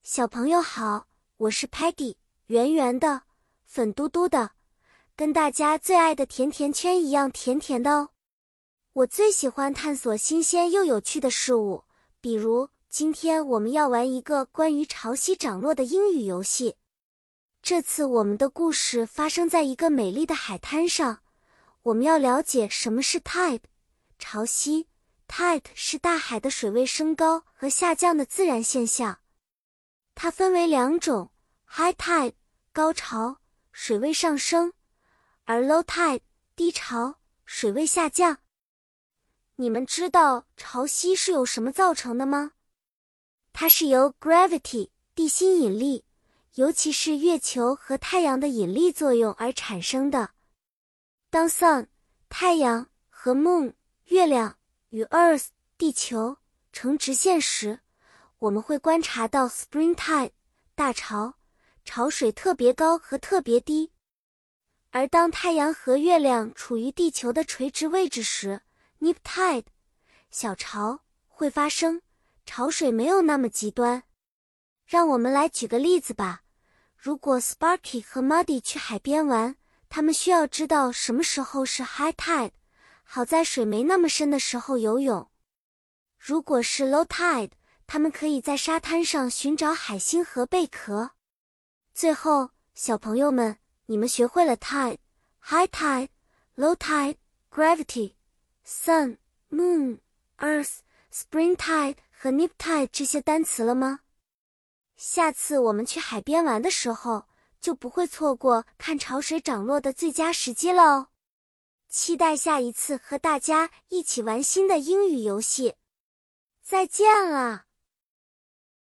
小朋友好，我是 Patty， 圆圆的，粉嘟嘟的，跟大家最爱的甜甜圈一样甜甜的哦。我最喜欢探索新鲜又有趣的事物，比如今天我们要玩一个关于潮汐涨落的英语游戏。这次我们的故事发生在一个美丽的海滩上，我们要了解什么是 tide， 潮汐。Tide 是大海的水位升高和下降的自然现象。它分为两种 ，high tide 高潮，水位上升，而 low tide 低潮，水位下降。你们知道潮汐是由什么造成的吗？它是由 gravity 地心引力，尤其是月球和太阳的引力作用而产生的。当 sun 太阳和 moon 月亮与 earth 地球成直线时，我们会观察到 spring tide 大潮，潮水特别高和特别低。而当太阳和月亮处于地球的垂直位置时， neap tide 小潮会发生，潮水没有那么极端。让我们来举个例子吧。如果 Sparky 和 Muddy 去海边玩，他们需要知道什么时候是 high tide， 好在水没那么深的时候游泳。如果是 low tide，他们可以在沙滩上寻找海星和贝壳。最后，小朋友们，你们学会了 tide、high tide、low tide、gravity、sun、moon、earth、spring tide 和 neap tide 这些单词了吗？下次我们去海边玩的时候，就不会错过看潮水涨落的最佳时机了哦。期待下一次和大家一起玩新的英语游戏。再见了。